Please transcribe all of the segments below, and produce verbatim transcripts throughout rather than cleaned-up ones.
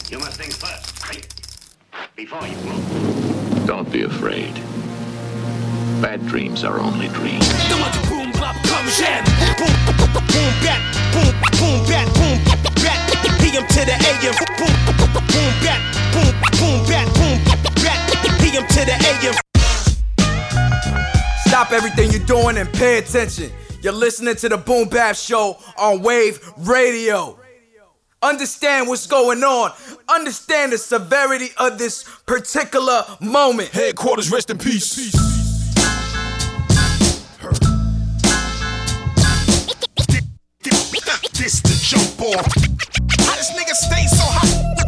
You must think first, right? Before you move. Don't be afraid. Bad dreams are only dreams. The one boom bop comes in. Boom boom bat, boom boom bat, boom bat. P M to the A M. Boom boom bat, boom boom bat, boom bat. P M to the A M. Stop everything you're doing and pay attention. You're listening to the Boom Bap Show on Wave Radio. Understand what's going on. Understand the severity of this particular moment. Headquarters, rest in peace. This the jump off. How this nigga stay so hot?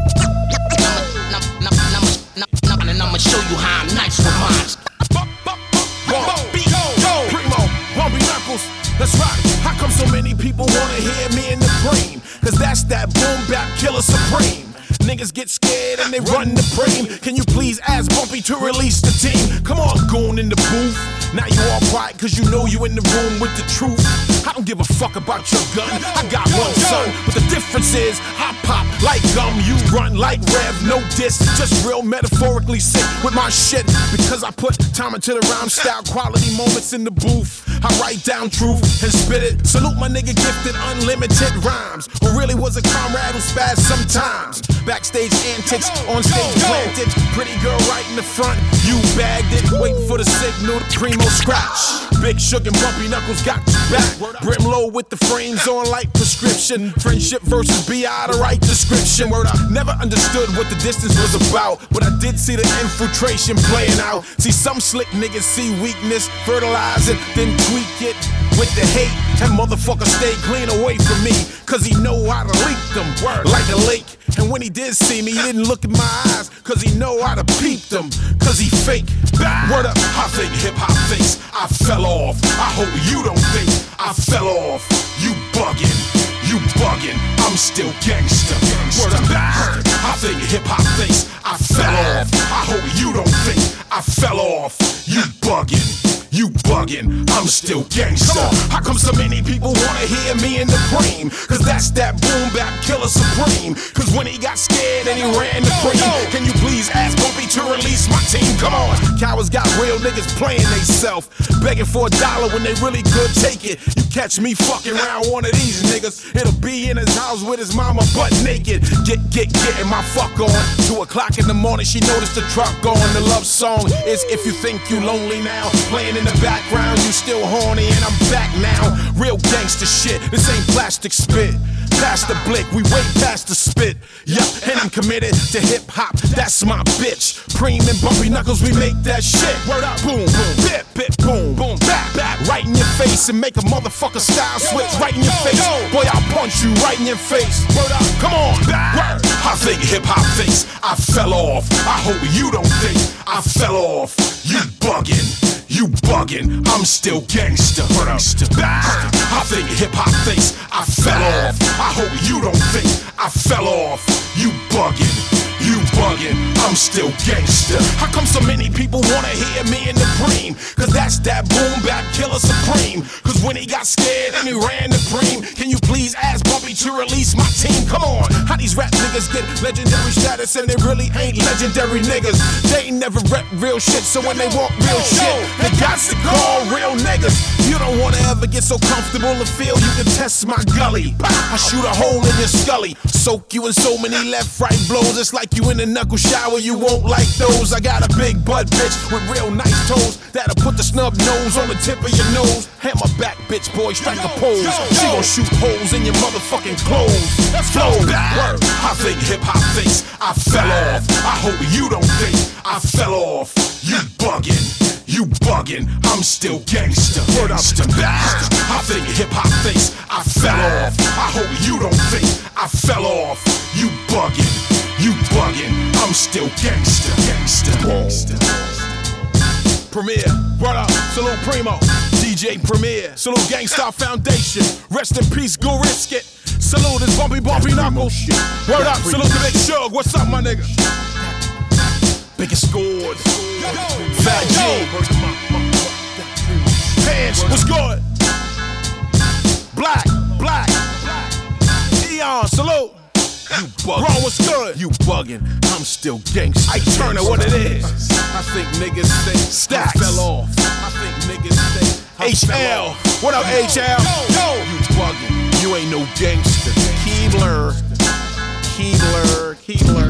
And I'ma show you how I'm nice with mine. Primo, Bumpy Knuckles, let's rock. How come so many people wanna hear me in the cream? Cause that's that boom bap killer supreme. Niggas get scared and they run the frame. Can you please ask Bumpy to release the team? Come on, goon in the booth. Now you all quiet cause you know you in the room with the truth. I don't give a fuck about your gun. I got one son, but the difference is I pop like gum, you run like Rev. No diss, just real metaphorically sick with my shit. Because I put time into the rhyme style, quality moments in the booth. I write down truth and spit it. Salute my nigga gifted unlimited rhymes, who really was a comrade who spazzed sometimes. Backstage antics, on stage planted. Pretty girl right in the front, you bagged it. Waiting for the signal, the primo scratch. Big Shook and Bumpy Knuckles got you back. Brim low with the frames on like prescription. Friendship versus B I, the right description. Word, I never understood what the distance was about, but I did see the infiltration playing out. See some slick niggas see weakness, fertilize it, then tweak it with the hate. And motherfucker stay clean away from me, cause he know how to leak them like a lake. And when he did see me, he didn't look in my eyes, cause he know how to peep them, cause he fake. Word up, I think hip-hop thinks I fell off. I hope you don't think I fell off. You buggin', you buggin', I'm still gangsta. Word up, I think hip-hop thinks I fell off. I hope you don't think I fell off. You buggin', you buggin', I'm still gangsta. How come so many people wanna hear me in the cream? Cause that's that boom bap killer supreme. Cause when he got scared and he ran the cream, can you please ask Bumpy to release my team? Come on, cowards got real niggas playing they self, begging for a dollar when they really could take it. You catch me fucking around one of these niggas, it'll be in his house with his mama butt naked. Get, get, getting my fuck on. Two o'clock in the morning, she noticed the truck on. The love song is If You Think You Lonely Now, playing in the background, you still horny and I'm back now. Real gangster shit, this ain't plastic spit. Past the blick, we way past the spit. Yup, and I'm committed to hip hop, that's my bitch. Preem and Bumpy Knuckles, we make that shit. Word up, boom, boom, bip, bip, boom, boom, back, back. Right in your face and make a motherfucker style switch right in your face. Boy, I'll punch you right in your face. Word up, come on, word. I think hip hop thinks I fell off. I hope you don't think I fell off. You buggin', you buggin', I'm still gangsta. I think hip hop thinks I fell off. I hope you don't think I fell off. You buggin', you buggin', I'm still gangsta. How come so many people wanna hear me in the cream? Cause that's that boom bap killer supreme. Cause when he got scared and he ran the cream, can you please ask Bumpy to release my team? Come on, how these rap niggas get legendary status and they really ain't legendary niggas? They ain't never rep real shit, so when they want real shit, they got to call real niggas. You don't wanna ever get so comfortable to feel you can test my gully. I shoot a hole in your scully, soak you in so many left right blows. It's like you in a knuckle shower, you won't like those. I got a big butt bitch with real nice toes that'll put the snub nose on the tip of your nose. Hammer back bitch boy, strike a pose. She gon' shoot holes in your motherfucking clothes. Flow, word. I think hip hop thinks I fell off. I hope you don't think I fell off. You buggin', you buggin', I'm still gangsta. Word up, I think hip hop thinks I fell off. I hope you don't think I fell off. You buggin', you buggin', I'm still gangsta. Gangsta, gangsta. Premier, word up, salute Primo, D J Premier, salute Gangstar Foundation, rest in peace, go risk it. Salute this Bumpy Bumpy Knuckles. Word up, salute the Big Shug, what's up my nigga? Biggest scores, Fat G, Pants, what's good? Black, Black, Eon, salute. You buggin'. Bro, what's good? You buggin'. I'm still gangsta. I turn it what it is. I think niggas think Stacks I fell off. I think niggas think I H L. What up, H L? Yo. You buggin'. You ain't no gangster. Keebler. Keebler. Keebler.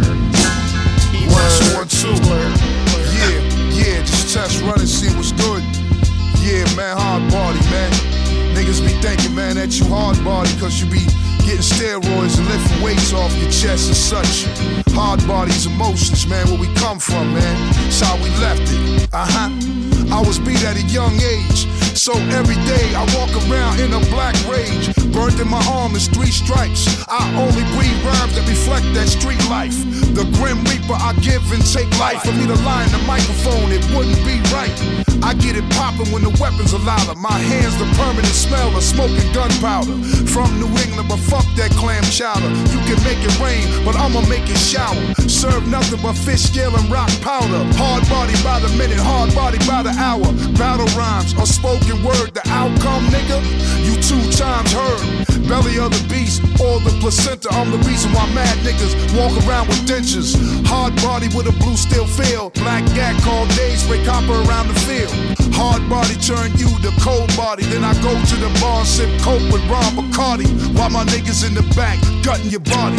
Keebler. One, two, one, two. Yeah, yeah, just test run and see what's good. Yeah, man, hard body, man. Niggas be thinking, man, that you hard body cause you be getting steroids and lifting weights off your chest and such. Hard bodies, emotions, man, where we come from, man. It's how we left it. Uh-huh. I was beat at a young age, so every day I walk around in a black rage. Burned in my arm is three stripes. I only breathe rhymes that reflect that street life. The grim reaper, I give and take life. For me to lie in the microphone, it wouldn't be right. I get it poppin' when the weapons are louder. My hands the permanent smell of smoking gunpowder. From New England, but fuck that clam chowder. You can make it rain, but I'ma make it shower. Serve nothing but fish scale and rock powder. Hard body by the minute, hard body by the hour. Battle rhymes, or spoken word, the outcome, nigga, you two times heard. Belly of the beast, or the placenta. I'm the reason why mad niggas walk around with dentures. Hard body with a blue steel feel. Black gat called days, spray copper around the field. Hard body turn you to cold body. Then I go to the bar and sip coke with Ron Bacardi, while my niggas in the back gutting your body.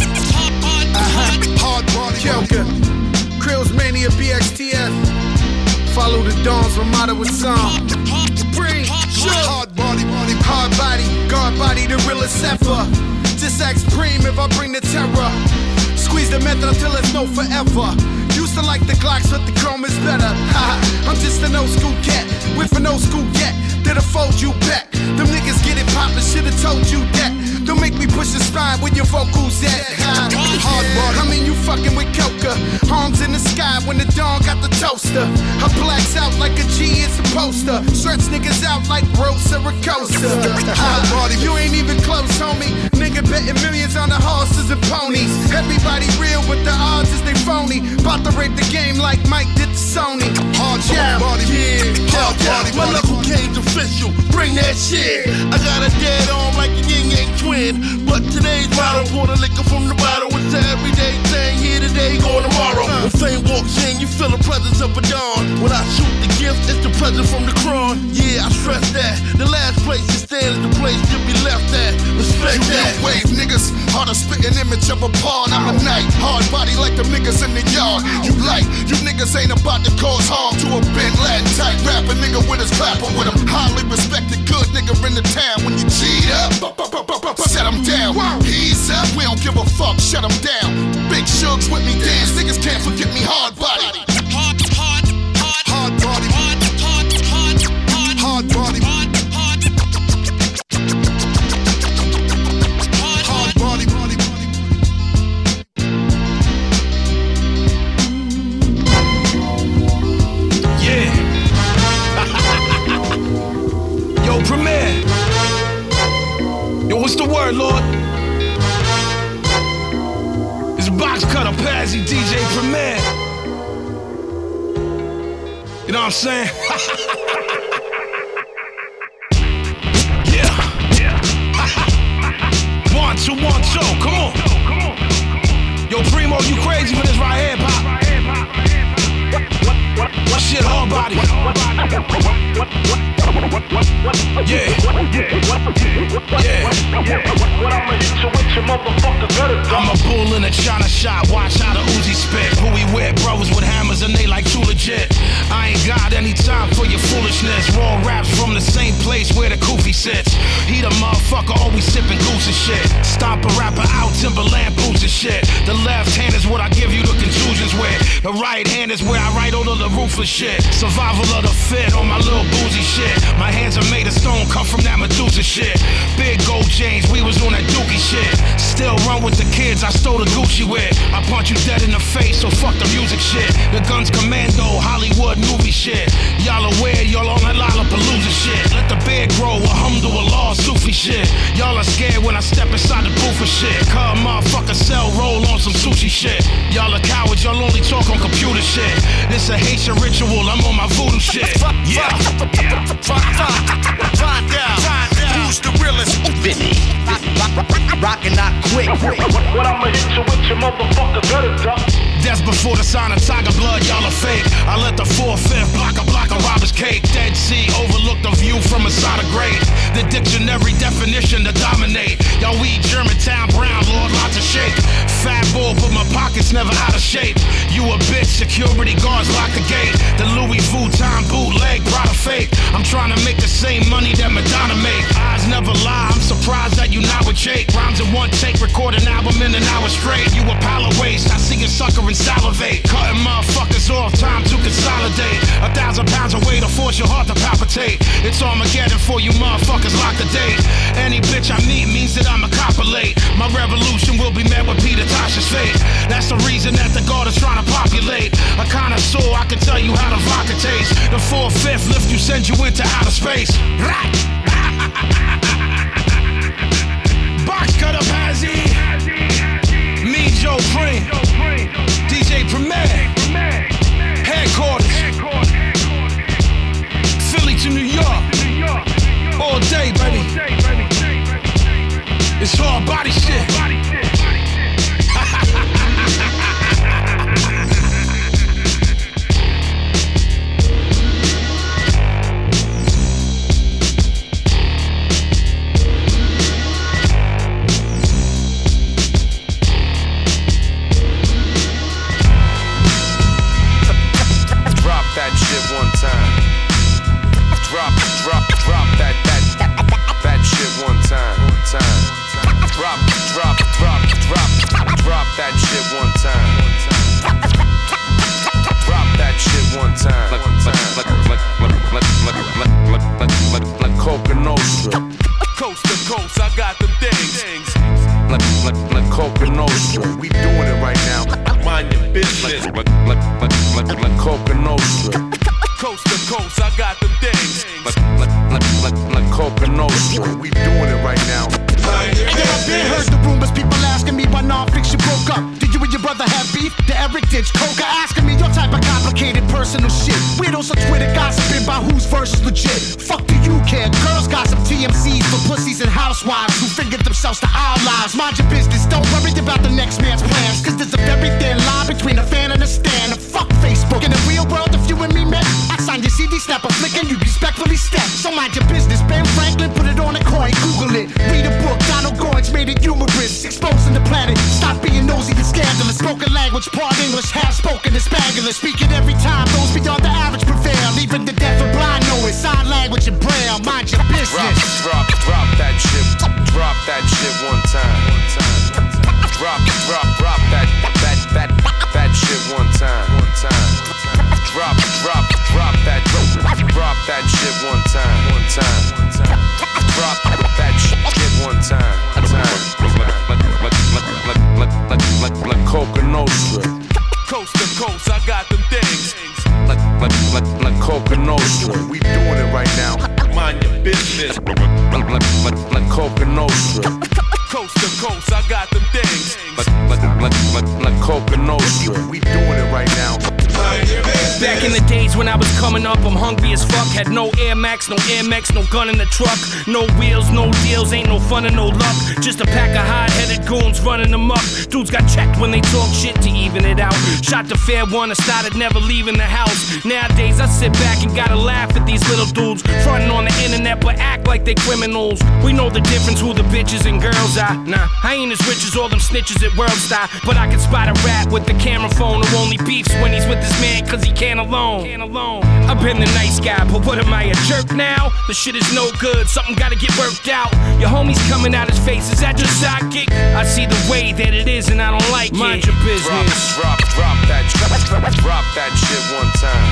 Uh-huh. Hard body. Kelka, Krills Mania, B X T F. Follow the dawns, my motto is song. Bring, sure. Hard body, body, hard body, guard body, the realest ever. Just ask Preem if I bring the terror. Squeeze the method until it's no forever. Used to like the Glocks, but the chrome is better. I'm just an old school cat with an old school gat that'll fold you back. Them niggas get it poppin', should've told you that. Don't make me push the spine with your vocals at. Hard body. I mean you fucking with Coca. Arms in the sky when the dawn got the toaster. I blacks out like a G, it's a poster. Stretch niggas out like Rosa Ricosta. Hard body. You ain't even close, homie. Nigga betting millions on the horses and ponies. Everybody real, but the odds is they phony. About to rape the game like Mike did to Sony. Hard yeah. body. Yeah. Hard yeah. body. My local game's official. Bring that shit. I got a dead arm like a yin yang twin. But today's motto, pour the liquor from the bottle. It's an everyday thing, here today, gone tomorrow. When fame walks in, you feel the presence of a dawn. When I shoot the gift, it's the present from the crown. Yeah, I stress that. The last place you stand is the place you'll be left at. Respect you that. You wave niggas, hard to spit an image of a pawn. I'm a knight, hard body like the niggas in the yard. You like, you niggas ain't about to cause harm to a Bin Laden type rapper nigga with his clapper with him. Highly respected good nigga in the town. When you G'd up, set him down. He's up, we don't give a fuck, shut him down. Big Shugs with me dance, niggas can't forget me hard body. Hard, hard, hard, hard body. Hard, hard, hard, hard, hard body. Hard, hard, hard, hard body, body, body. Yeah. Yo, Premier. Yo, what's the word, Lord? It's Box Cutter, Pazzy, D J Premier. You know what I'm saying? Yeah. Yeah. One, two, one, two. Come on. Yo, Primo, you crazy for this right here, Pop? Shit, hard body. Yeah. Yeah. I'm a bull in a China shop. Watch how the Uzi spit. Who we with? Brothers with hammers and they like too legit. I ain't got any time for your foolishness. Raw raps from the same place where the Koofy sits. He the motherfucker always sipping goose and shit. Stomp a rapper out, Timberland boots and shit. The left hand is what I give you the contusions with. The right hand is where I write all of the ruthless shit. Survival of the fit on my little boozy shit. My hands are made of stone, come from that Medusa shit. Big gold chains, we was on that dookie shit. Still run with the kids I stole the Gucci with. I punch you dead in the face, so fuck the music shit. The guns commando, Hollywood movie shit. Y'all aware, y'all on that Lollapalooza shit. Let the beard grow, alhamdulillah, Sufi shit. Y'all are scared when I step inside the booth for shit. Cause motherfucker sell, roll on some sushi shit. Y'all are cowards, y'all only talk on computer shit. This a Haitian ritual, I'm on my voodoo shit. Yeah. Find out who's the realest. Vinny. Rockin' not quick. But I'ma hit you with your motherfucker better duck. That's before the sign of tiger blood, y'all are fake. I let the four-fifth block a block of robber's cake. Dead Sea overlooked the view from inside a grave. The dictionary definition to dominate. Y'all weed Germantown brown, Lord, lots of shake. Fat bull, but my pockets never out of shape. You a bitch, security guards lock the gate. The Louis Vuitton bootleg, Prada fake. I'm trying to make the same money that Madonna make. Eyes never lie, I'm surprised that you not with Jake. Rhymes in one take, record an album in an hour straight. You a pile of waste, I see a sucker and salivate. Cutting motherfuckers off, time to consolidate. A thousand pounds of weight to force your heart to palpitate. It's Armageddon for you motherfuckers, lock the date. Any bitch I meet means that I'm a copulate. My revolution will be met with Peter Tosh's fate. That's the reason that the guard is trying to populate. A connoisseur, I can tell you how the vodka tastes. The four-fifth lift you, send you into outer space. Box cut up Hazzy. Me, Joe Pring. D J Premier. Headquarters. Philly to New York. All day, baby. It's hard body shit. That shit one time. Drop, drop, drop that, that, that shit one time. One time. Drop, drop, drop, drop, drop that shit one time. Drop that shit one time. Like, like, like, like, like, like, like, like, like, like Coca Nostra. Coast to coast, I got them things. Like, like, like Coca Nostra. We doing it right now. Mind your business. Like, like, like, like, like Coca Nostra. Coast to coast, I got them things. Like, like, like, like, like Coca Nostra. We doing it right now. And then I've been heard the rumors, people asking me why non-fiction broke up. Did you and your brother have beef? The Eric Ditch Coca asking me your type of complicated personal shit. Weirdos on Twitter gossiping about whose verse is legit. Fuck do you care? Girls got some T M Cs for pussies and housewives who figured themselves to our lives. Mind your business, don't worry about the next man's plans. Cause there's a very thin line between a fan and a stan. And fuck Facebook. In the real world, if you and me met, I signed your C D, snap a flick and you respectfully step. So mind your business, Ben Franklin, put it on a coin, Google it. Read a book, Donald Goins made it humorous. Exposing the planet, stop being nosy and scandalous. Spoken language, part English, half spoken and Spanglish. Speaking every time, those beyond the average prevail. Even the deaf and blind know it. Sign language and braille, mind your business. Drop, drop, drop that shit. Drop that shit one time. One time. Drop, drop, drop that, that, that, that shit one time. One time. Drop, drop, drop that, drop that shit one time. One time. Drop that shit one time. One time. Like, like, like, like, like, like, like, like Coca Nostra. Coast to coast, I got them things. Like, like, like, like Coca Nostra. We doing it right now. Mind your business. Like, like, like, like Coca Nostra. Coast to coast, I got them things. Like, like, like, like, like Coca Nostra. We doing it right now. Back in the days when I was coming up, I'm hungry as fuck. Had no Air Max, no Air Max, no gun in the truck. No wheels, no deals, ain't no fun and no luck. Just a pack of hard-headed goons running amok. Dudes got checked when they talk shit to even it out. Shot the fair one, I started never leaving the house. Nowadays I sit back and gotta laugh at these little dudes fronting on the internet but act like they criminals. We know the difference who the bitches and girls are. Nah, I ain't as rich as all them snitches at World Star, but I can spot a rat with the camera phone who only beefs when he's with his man cause he can't alone. Can't alone. I've been the nice guy, but what am I, a jerk now? The shit is no good, something gotta get worked out. Your homie's coming out his face, is that your sidekick? I see the way that it is and I don't like it. Mind your business. Drop, drop, drop that, drop, drop that shit one time.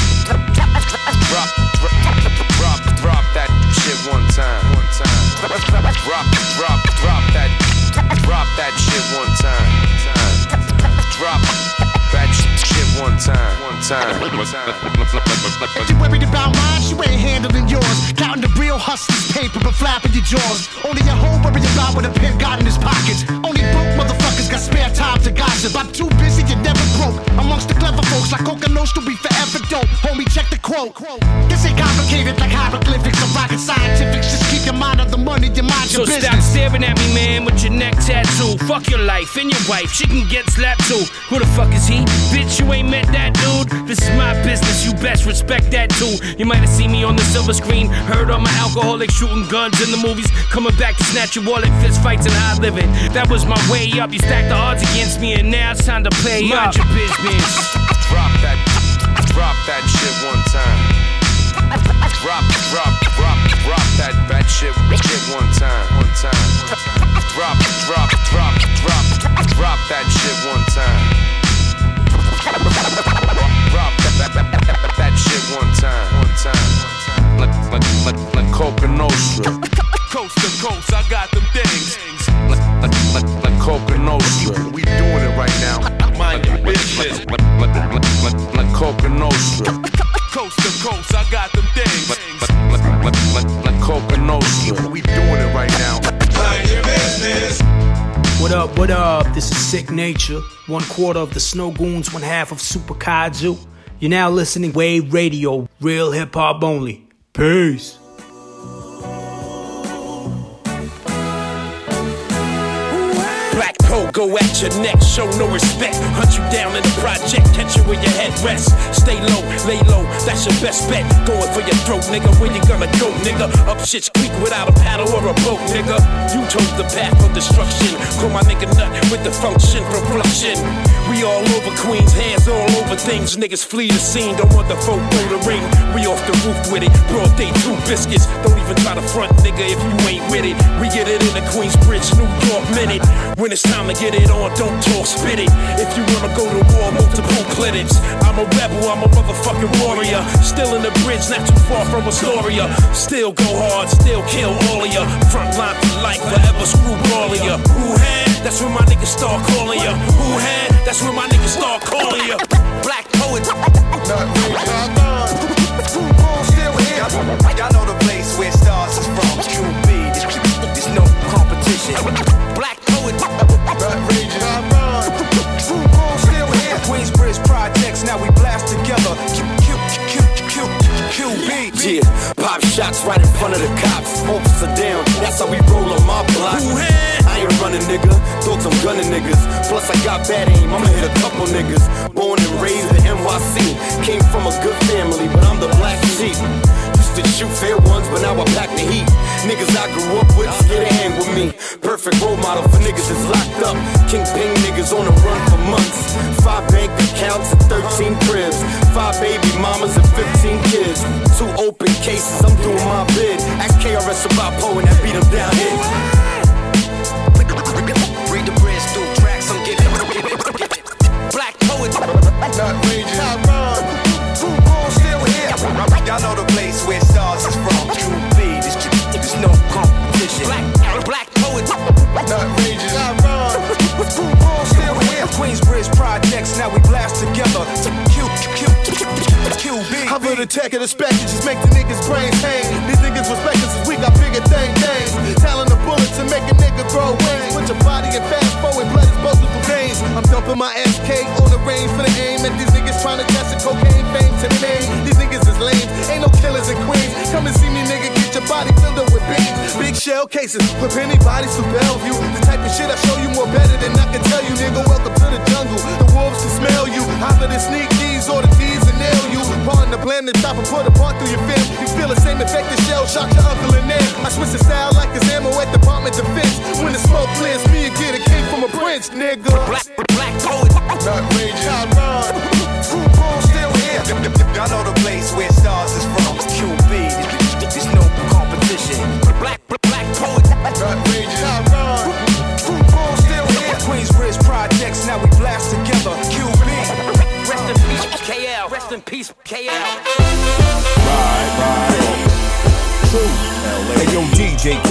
Drop, drop, drop, drop that shit one time. One time. Drop, drop, drop that, drop that shit one time. Drop that shit one time. One time. If you worried about mine, you ain't handling yours. Counting the real hustlers' paper but flapping your jaws. Only your hoe worry about what a pimp got in his pockets. Only broke motherfuckers got spare time to gossip. I'm too busy and never broke. Amongst the clever folks like Coca Nostra, we forever dope. Homie, check the quote. This ain't complicated like hieroglyphics or rocket scientifics. Just keep your mind of the money, you mind So your business. stop staring at me, man, with your neck tattoo. Fuck your life and your wife, she can get slapped too. Who the fuck is he? Bitch, you ain't met that dude. This is my business, you best respect that too. You might have seen me on the silver screen, heard all my alcoholic shooting guns in the movies, coming back to snatch your wallet, fist fights and high living. That was my way up. You stacked the odds against me, and now it's time to play Mind up. your business. Drop that, drop that shit one time. Drop, drop, drop, drop that that shit, shit one time, one time. Drop, drop, drop, drop, drop that shit one time. Drop that, that, that, that shit one time, one time. Like, like, like, like Coca Nostra. Coast to coast, I got them things. Like, like, like, like Coca Nostra. We doing it right now. Mind your business. Like, like, like, like, like Coca Nostra. Coast to coast, I got them things. Like, like, like, like, like, like Coca Nostra. We doing it right now. Mind your business. What up, what up? This is Sick Nature. One quarter of the Snow Goons, one half of Super Kaiju. You're now listening Wave Radio, real hip hop only. Peace. Black coat, go at your neck, show no respect. Hunt you down in the project, catch you where your head rests. Stay low, lay low, that's your best bet. Going for your throat, nigga, where you gonna go, nigga? Up shit's creek without a paddle or a boat, nigga. You chose the path of destruction. Call my nigga nut with the function from production. We all over Queens, hands all over things. Niggas flee the scene, don't want the folk throw the ring. We off the roof with it, broad day two biscuits. Don't even try to front, nigga, if you ain't with it. We get it in the Queensbridge, New York minute. When it's time to get it on, don't talk, spit it. If you wanna go to war, multiple clinics. I'm a rebel, I'm a motherfucking warrior. Still in the bridge, not too far from Astoria. Still go hard, still kill all of ya. Front line for life, forever screw all of ya. Who had? That's when my niggas start calling ya. Who had? That's when my niggas start calling ya. Black poet. Not really, I'm still here. Y'all know the place where stars is from. Q B, there's no competition. Black poet. Not raging, I'm wrong. Still here. Queensbridge projects, now we blast together. Q, Q, Q, Q, Q B. Yeah, pop shots right in front of the cops. Officer down, that's how we roll on my block. I ain't running, nigga. Thought I'm gunning niggas. Plus I got bad aim, I'ma hit a couple niggas. Born and raised in N Y C. Came from a good family, but I'm the black sheep. Used to shoot fair ones, but now I pack the heat. Niggas I grew up with, scared to hang with me. Perfect role model for niggas that's locked up. Kingpin niggas on the run for months. Five bank accounts and thirteen cribs. Five baby mamas and fifteen kids. Two open cases, I'm doing my bid. Ask K R S about Poe and that beat him down here. Read the bridge through tracks, I'm giving. Black poet. Not raging, I'm wrong. Still here. Y'all know the place where stars is from. Q B, there's, there's no competition. Black, black poet. Not raging, I'm wrong. Still here. Queensbridge projects, now we blast together. Q, Q, Q B. I'm for the tech of the spec, just make the niggas brains hang. These niggas respect us as we got bigger thing things. Talent the bullets and make a nigga grow wings. Put your body in fast forward, blood is multiple veins. I'm dumping my S K on the range for the aim. And these niggas trying to test the cocaine fame to the name. These niggas is lame, ain't no killers in Queens. Come and see me, nigga, get your body filled up with beans. Big shell cases, put penny bodies to Bellevue. The type of shit I show you more better than I can tell you, nigga. Welcome to the jungle, the wolves can smell you. Either the sneak keys or the thieves and nail you. Pardon the blend, the chopper put a part through your fin. You feel the same effect the shell shot your uncle in there. I switch the style like it's ammo at Department Defense. When the smoke clears, me and get a king from a prince, nigga. Black, black poet. Not raging, I'm wrong. Still here. Y'all know the place where stars is from. Q B, there's no competition. Black, black poet. Not raging, I'm wrong. Still here. Queensbridge projects, now we blast together. Q B. Rest in peace, K L. Rest in peace, K L. Ride, ride. True. Hey, yo, D J, can you pick the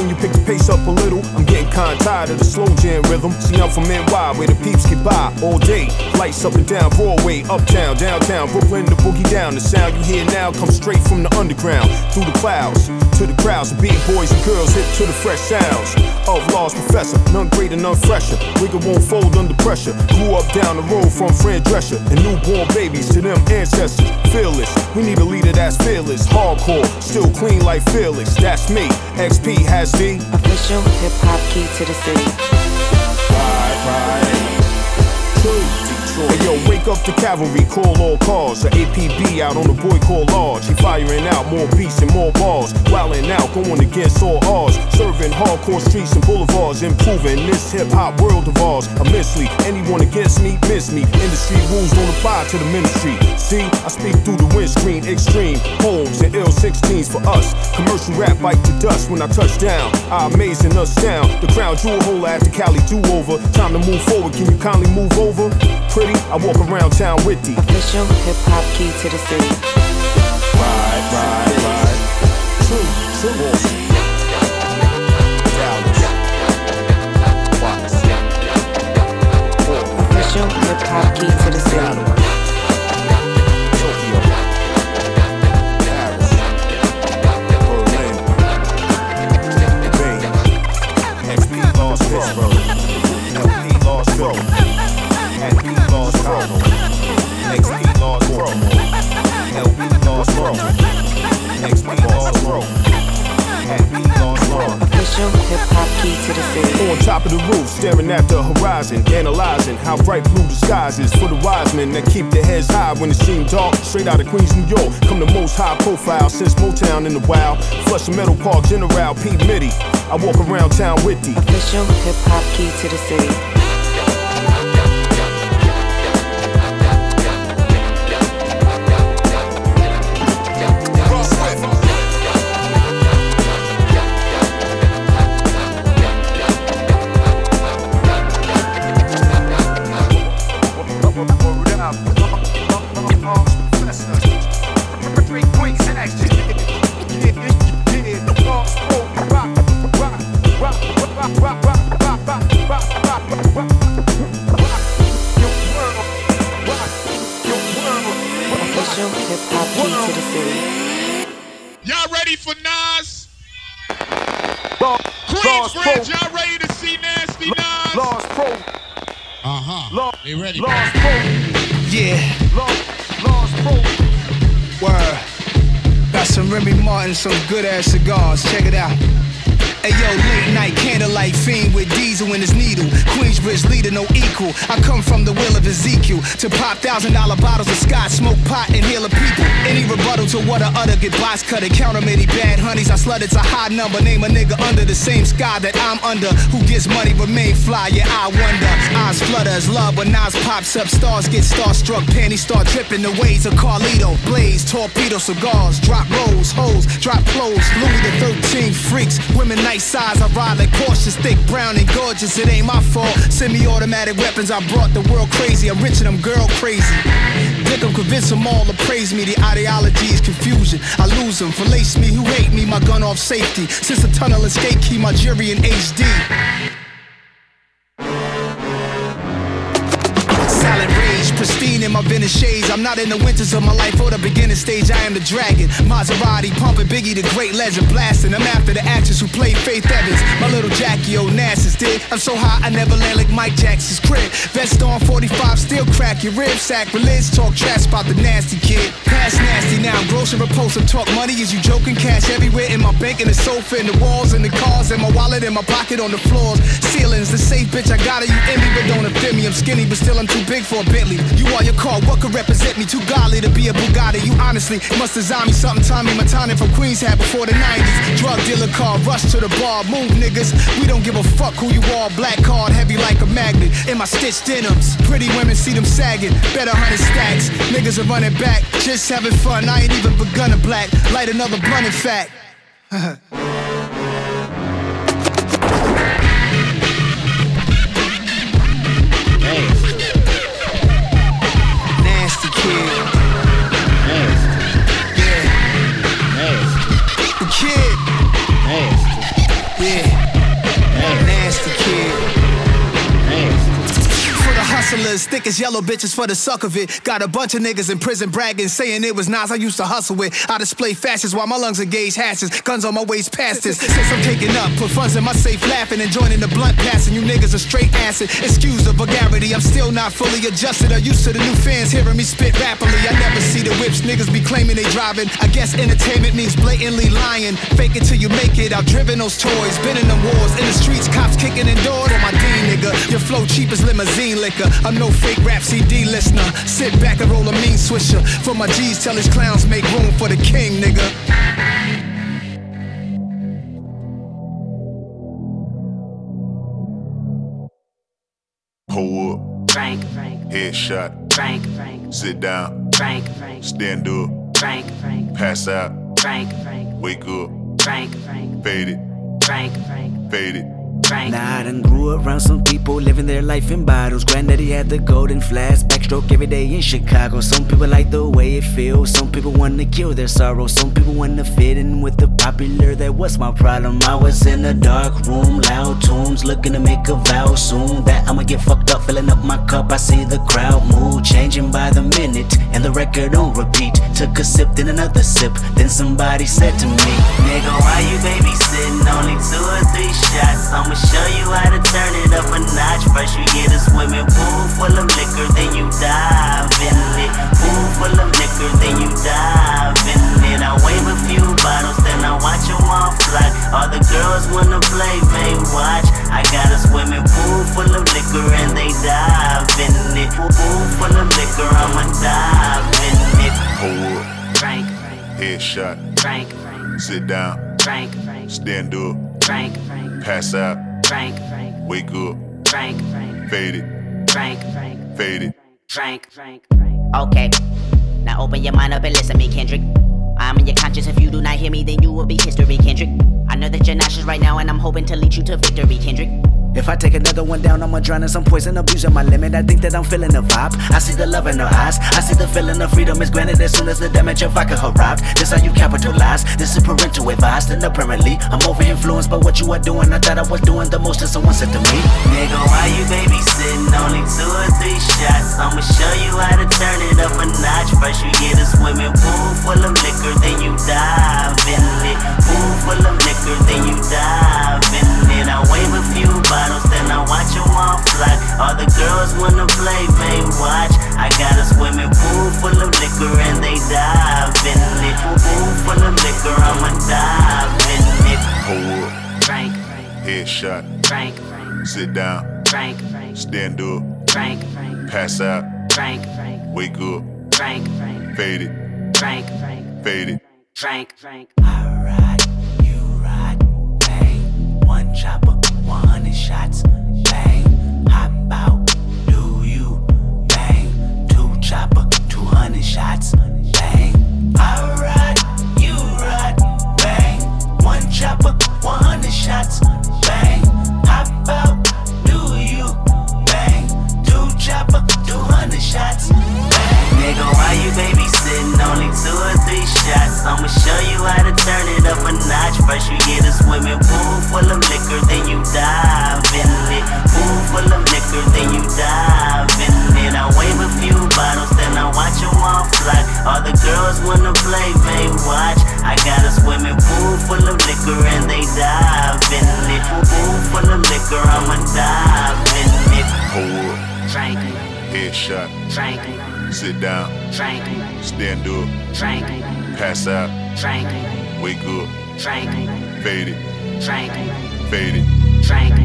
pace up a little. I'm getting kinda tired of the slow jam rhythm. See, I'm from N Y, where the peeps get by all day. Lights up and down Broadway, uptown, downtown, Brooklyn, the boogie down. The sound you hear now comes straight from the underground, through the clouds, to the crowds. The beat boys and girls hip to the fresh sounds of Lost Professor. None greater, none fresher. Wigger won't fold under pressure. Grew up down the road from Fran Drescher. And newborn babies to them ancestors. Fearless, we need a leader that's fearless. Hardcore, still clean like fearless. That's me, X P has the official hip-hop key to the city. Ride, ride, true. Hey yo, wake up the cavalry, call all cars. The A P B out on the boy called Large. He firing out more beats and more bars. Wildin' out, going against all odds. Serving hardcore streets and boulevards. Improving this hip-hop world of ours immensely. Anyone against me, miss me. Industry rules don't apply to the ministry. See, I speak through the windscreen. Extreme homes and ill sixteens for us. Commercial rap bite to dust when I touch down. I amazing us down. The crown jewel holder after Cali do-over. Time to move forward, can you kindly move over? Pretty, I walk around town with the official hip-hop key to the city. Ride, ride, ride. True, true. Dallas. Watts. Official hip-hop key to the city. Tokyo. Paris. Berlin. Spain. X P Lost Pittsburgh. L P Lost Pro. L P Lost Pro. X P Lost Pro. L P Lost Pro. X P Lost Pro. L P Lost Pro. Official hip-hop key to the city. On top of the roof, staring at the horizon, analyzing how bright blue the skies is for the wise men that keep their heads high when it seems dark. Straight out of Queens, New York, come the most high profile since Motown in the wild. Flushing Meadow Park, General P. Mitty. I walk around town with the official hip-hop key to the city. Y'all ready for Nas? Lost, Queensbridge, y'all ready to see Nasty Nas? Lost Pro. Uh-huh. Lost, they ready. Lost Pro. Yeah. Lost, Lost Pro. Word. Got some Remy Martin, some good ass cigars. Check it out. Hey yo, late night candlelight fiend with diesel in his needle. Queensbridge leader, no equal. I come from the will of Ezekiel to pop thousand dollar bottles of scotch, smoke pot and heal the people. Any rebuttal to what I utter, get box cut and count 'em any bad honeys. I slut it's a high number. Name a nigga under the same sky that I'm under. Who gets money remain fly? Yeah, I wonder. Eyes flutter as love when Nas pops up. Stars get starstruck, panties start dripping. The ways of Carlito, blaze, torpedo cigars, drop rolls, hoes, drop clothes. Louis the thirteenth freaks, women. Nice size, I ride like Porsches, thick, brown, and gorgeous. It ain't my fault. Semi-automatic weapons, I brought the world crazy. I'm rich and I'm girl crazy. Dick 'em, convince them all to praise me. The ideology is confusion. I lose them, fellate me. Who hate me? My gun off safety. Since the tunnel escape key, my jury in H D. Silent rage, pristine in my vintage shades. I'm not in the winters of my life or the beginning stage. I am the dragon. Maserati pumping Biggie, the great legend blasting. I'm after the actress who played Faith Evans. My little Jackie Onassis did. I'm so high I never land like Mike Jackson's crib. Vest on forty-five, still crack your ribs. Sacrilege, talk trash about the nasty kid. Past nasty now, I'm gross and repulsive. Talk money, is you joking? Cash everywhere in my bank, in the sofa, in the walls, in the cars, in my wallet, in my pocket, on the floors. Ceilings, the safe bitch, I got it. You envy, but don't offend me. I'm skinny, but still I'm too big for a Bentley. You are your car, what could represent me? Too godly to be a Bugatti. You honestly must design me something Tommy Montana from Queens had before the nineties. Drug dealer car, rush to the bar, move niggas. We don't give a fuck who you are. Black card, heavy like a magnet. In my stitched denims, pretty women see them sagging. Better hundred stacks, niggas are running back. Just having fun, I ain't even begun to black. Light another blunt in fact. Nasty kid. Nasty. Yeah. Nasty. The kid. Nasty. Yeah. hustlers, thick as yellow bitches for the suck of it. Got a bunch of niggas in prison bragging, saying it was Nas I used to hustle with. I display fashions while my lungs engage hashes. Guns on my waist past this. Since I'm taking up, put funds in my safe laughing and joining the blunt passing. You niggas are straight acid. Excuse the vulgarity, I'm still not fully adjusted or used to the new fans hearing me spit rapidly. I never see the whips niggas be claiming they driving. I guess entertainment means blatantly lying. Fake it till you make it, outdriven those toys. Been in the wars, in the streets, cops kicking in doors. For my D nigga, your flow cheap as limousine liquor. I'm no fake rap C D listener. Sit back and roll a mean swisher. For my G's, tell his clowns make room for the king, nigga. Pull up. Frank, Frank. Headshot. Frank, Frank. Sit down. Frank, Frank. Stand up. Frank, Frank. Pass out. Frank, Frank. Wake up. Frank, Frank. Fade it. Frank, Frank. Fade it. Nah, I done grew around some people living their life in bottles. Granddaddy had the golden flask, backstroke every day in Chicago. Some people like the way it feels, some people wanna kill their sorrow. Some people wanna fit in with the popular, that was my problem. I was in a dark room, loud tunes, looking to make a vow soon that I'ma get fucked up, filling up my cup. I see the crowd mood changing by the minute, and the record on repeat. Took a sip, then another sip, then somebody said to me, nigga, why you babysitting? Only two or three shots, I'ma show you how to turn it up a notch. First you get a swimming pool full of liquor, then you dive in it. Pool full of liquor, then you dive in it. I wave a few bottles, then I watch them all fly. All the girls wanna play, they watch. I got a swimming pool full of liquor and they dive in it. Pool full of liquor, I'ma dive in it. Pull up. Frank, Headshot. Frank, Frank. Sit down. Frank, Frank. Stand up. Frank, Frank. Pass out. Frank, Frank. Wake up. Frank, Frank. Fade it. Frank, Frank. Fade it. Frank, Frank, Frank. Okay, now open your mind up and listen to me, Kendrick. I'm in your conscience. If you do not hear me, then you will be history, Kendrick. I know that you're nauseous right now, and I'm hoping to lead you to victory, Kendrick. If I take another one down, I'ma drown in some poison, abusing my limit. I think that I'm feeling the vibe. I see the love in her eyes. I see the feeling of freedom is granted as soon as the damage of vodka arrived. This how you capitalize. This is parental advice. And apparently, I'm over influenced by what you are doing. I thought I was doing the most, and someone said to me, nigga, why you babysitting? Only two or three shots. I'ma show you how to turn it up a notch. First you get a swimming pool full of liquor, then you dive in it. Pool full of liquor, then you dive in it. I wave a few bottles, then I watch them all fly. All the girls wanna play, they watch. I got a swimming pool full of liquor and they dive in it. Pool full of liquor, I'ma dive in it. Pull up. Frank, Headshot. Frank, Frank. Sit down. Frank, Frank. Stand up. Frank, Frank. Pass out. Frank, Frank. Wake up. Frank, Frank. Fade it. Frank, Frank. Fade it. Frank, Frank. Alright, you ride, bang. One chopper, one hundred shots, bang. Hop out, do you, bang. Two chopper, two hundred shots, bang. Alright, you ride, bang. One chopper, one hundred shots, bang. Hop out, do you, bang. Two chopper, two hundred shots, bang. Nigga, why you babysitting? Only two or three shots. I'ma show you how to turn it up a notch. First you get a swimming pool full of liquor, then you dive in it. Pool full of liquor, then you dive in it. I wave a few bottles, then I watch them all fly. All the girls wanna play, they watch. I got a swimming pool full of liquor and they dive in it. Pool full of liquor, I'ma dive in it. Pull up. Frank, Headshot. Frank. Sit down. Frank. Stand up. Frank. Pass out. Frank. Wake up. Frank. Fade it. Frank. Fade it. Frank.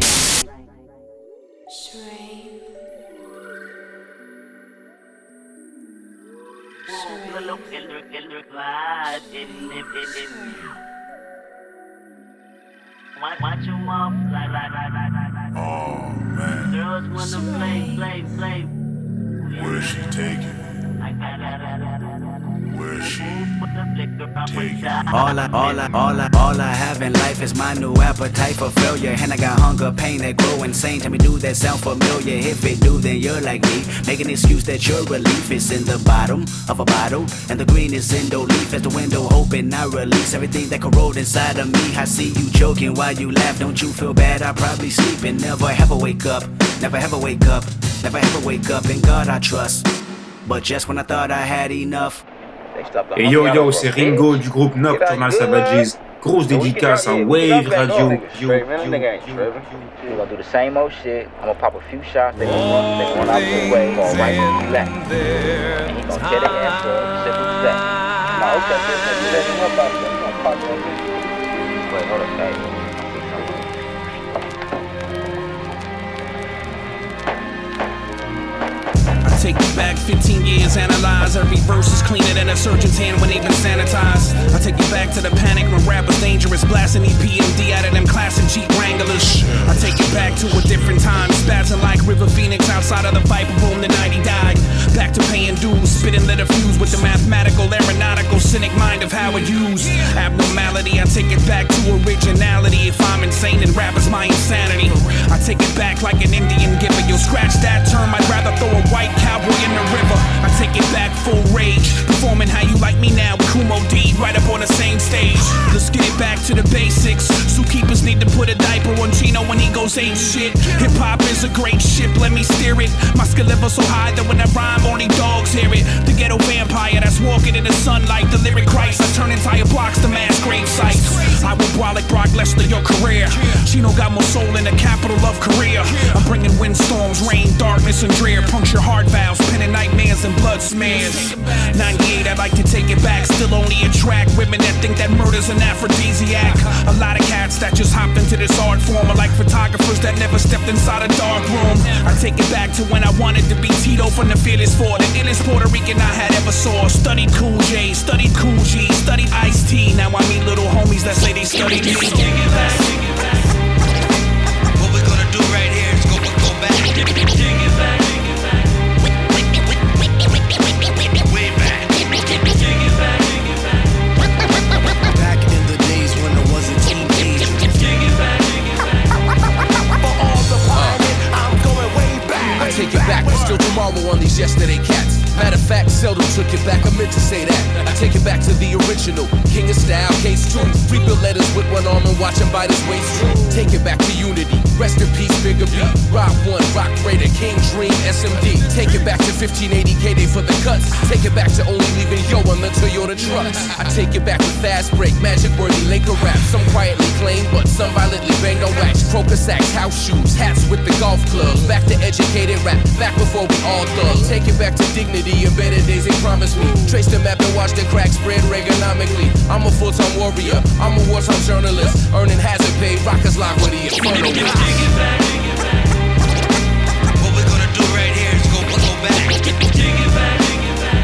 Watch them all fly, fly, fly, fly, fly. Oh man. Girls wanna play, play, play. Where's she taking? Where's she taking? All I, all I, all I, all I have in life is my new appetite for failure. And I got hunger, pain that grow insane. Tell me, do that sound familiar? If it do, then you're like me. Make an excuse that your relief is in the bottom of a bottle, and the green is in the leaf. As the window open, I release everything that corrode inside of me. I see you joking while you laugh. Don't you feel bad? I probably sleep and never ever wake up. Never ever wake up. Never ever wake up, in God I trust. But just when I thought I had enough. Et yo yo, c'est Ringo du groupe Nocturnal Savages. Grosse dédicace à Wave Radio. Yo, yo, yo. We're gonna do the same old shit. I'm gonna pop a few shots. They're gonna run, they're gonna run out the way, going right to the left. And he's gonna get it into a simple step. Now, okay, this is the best one about it. We're gonna pop it over. Wait, hold up, guys. Take you back fifteen years, analyze every verse is cleaner than a surgeon's hand when they've been sanitized. I take you back to the panic when rap was dangerous, blasting E P M D out of them classic Jeep Wranglers. I take you back to a different time, spazzing like River Phoenix outside of the Viper Room the night he died. Back to paying dues, spitting letter fuse with the mathematical, aeronautical, cynic mind of how it used. Abnormality, I take it back to originality. If I'm insane, then rap is my insanity. I take it back like an Indian giver. You'll scratch that term, I'd rather throw a white cowboy in the river. I take it back full rage, performing how you like me now with Kumo D right up on the same stage. Let's get it back to the basics. Zookeepers need to put a diaper on Chino when he goes ape shit. Hip hop is a great ship, let me steer it. My skill level so high that when I rhyme only dogs hear it. The ghetto vampire that's walking in the sunlight, the lyric Christ. I turn entire blocks to mass grave sites. I will brolic Brock Lesnar your career. Chino got more soul in the capital of Korea. I'm bringing windstorms, rain, darkness, and drear. Puncture heart valves, penning nightmares and blood smears. ninety-eight, I'd like to take it back. Still only attract women that think that murder's an aphrodisiac. A lot of cats that just hopped into this art form are like photographers that never stepped inside a dark room. I take it back to when I wanted to be Tito from the Fearless Four, the illest Puerto Rican I had ever saw. Studied Cool J, studied Cool G, studied Ice-T. Now I meet little homies that say they studied me. What we're gonna do right here is go, go back. Dig it back. Way back. Back in the days when I wasn't teenage. For all the pioneers, I'm going way back. I take it back, but still tomorrow on these yesterday cats. Matter of fact, seldom took it back, I meant to say that. I take it back to the original, King of Style, case two. Rebuild letters with one arm and watch him bite his waist through. Take it back to unity, rest in peace, Bigger B. Rock one, Rock Raider, King Dream, S M D. Take it back to fifteen eighty K Day for the cuts. Take it back to only leaving Yo on the Toyota trucks. I take it back with fast break, magic worthy Laker rap. Some quietly claim, but some violently bang on wax. Crocus sacks, house shoes, hats with the golf clubs. Back to educated rap, back before we all thugs. Take it back to dignity. The embedded days they promised me. Trace the map and watch the cracks spread Reaganomically. I'm a full-time warrior, I'm a wartime journalist. Earning hazard pay, rockers lock with the inferno. Dig it back, dig it back. What we're gonna do right here is go, go back. Dig it back, dig it back.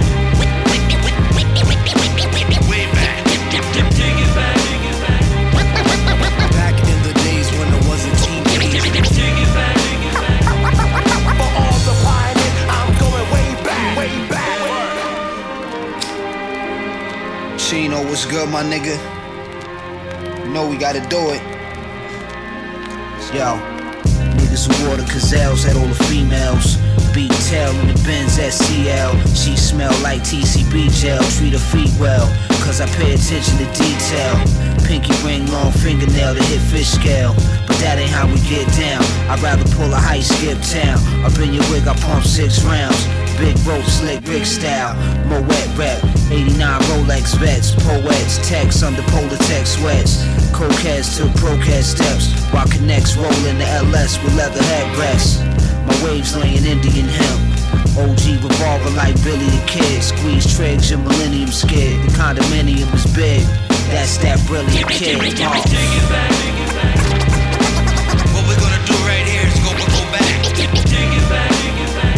Way back. Dig it back, dig it back. Back in the days when I wasn't teenage. Dig it back, dig it back. For all the pioneers, I'm going way back, way back. Chino, what's good, my nigga? You know we gotta do it. Yo, niggas who wore the gazelles had all the females. Beat tail in the Benz S C L. She smell like T C B gel. Treat her feet well, cause I pay attention to detail. Pinky ring, long fingernail to hit fish scale. But that ain't how we get down. I'd rather pull a high skip town. Up in your wig, I pump six rounds. Big rope, slick, Rick style. Moet rep, eighty-nine Rolex vets. Poets, text under polar text sweats. Cokeheads to procast steps. While connects roll in the L S with leather headrests. My waves laying Indian hemp. O G revolver like Billy the Kid. Squeeze trigs, your millennium skid. The condominium is big. That's that brilliant kid. What we're gonna do right here is go, go back. Dig it back, dig it back.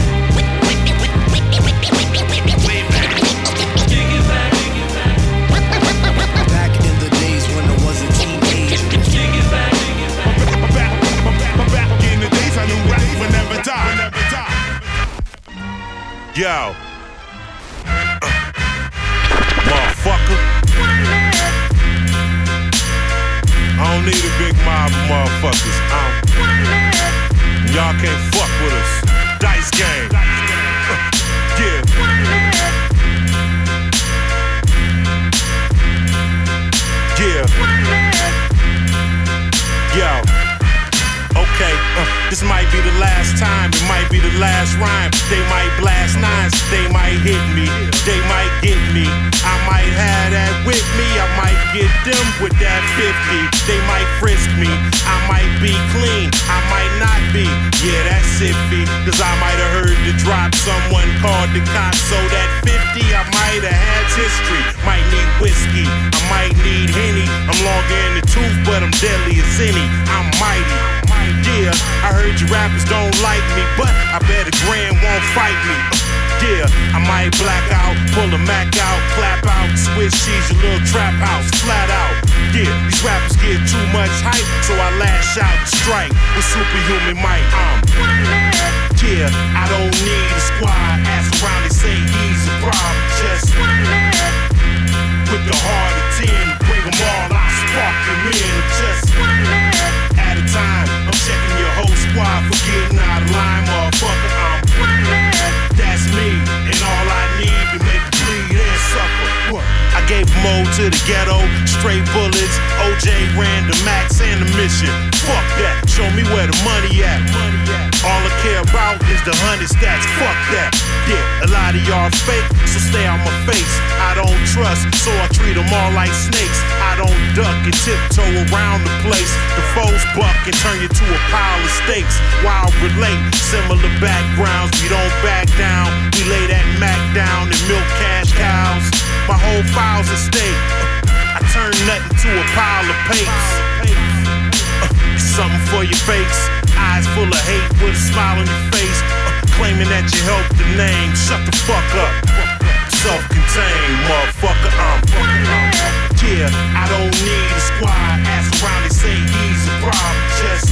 Way back. Dig it back, dig it back. Back in the days when I wasn't teenage. Dig it back, dig it back. Back, back, back in the days I knew rap would never die. Yo, uh, motherfucker. I don't need a big mob of motherfuckers. Um, y'all can't fuck with us. Dice game. Uh, yeah. Yeah. Yo. Okay, uh, this might be the last time, it might be the last They might blast nines, they might hit me, they might get me. I might have that with me, I might get them with that fifty. They might frisk me, I might be clean, I might not be. Yeah, that's iffy, cause I might have heard the drop. Someone called the cops, so that fifty I might have had history. Might need whiskey, I might need Henny. I'm longer in the tooth, but I'm deadly as any. I'm mighty. Yeah, I heard you rappers don't like me, but I bet a grand won't fight me. Yeah, I might black out, pull a Mac out, clap out, switch cheese, your little trap house, flat out. Yeah, these rappers get too much hype, so I lash out and strike with superhuman might. I'm yeah, I don't need a squad. Ask around, they say he's a problem. Just with the heart of ten, bring them all, I spark them in. Just at a time, I'm checking your whole squad for getting out of line, motherfucker. I'm that's me, and all I need to make you bleed and suffer. What? I gave Mo to the ghetto, straight bullets. O J ran the max and the mission. Fuck that, show me where the money at. All I care about is the hundred stacks. Fuck that. Yeah, a lot of y'all fake, so stay out my face. I don't trust, so I treat them all like snakes. I don't duck and tiptoe around the place. The foes buck and turn you to a pile of steaks. While relate, similar backgrounds, we don't back down. We lay that Mac down and milk cash cows. My whole file's at stake. I turn nothing to a pile of papes. Uh, something for your face. Eyes full of hate with a smile on your face. Uh, claiming that you helped the name. Shut the fuck up. Self-contained, motherfucker. I'm yeah, I don't need a squad. Ask around, they say he's a problem. Just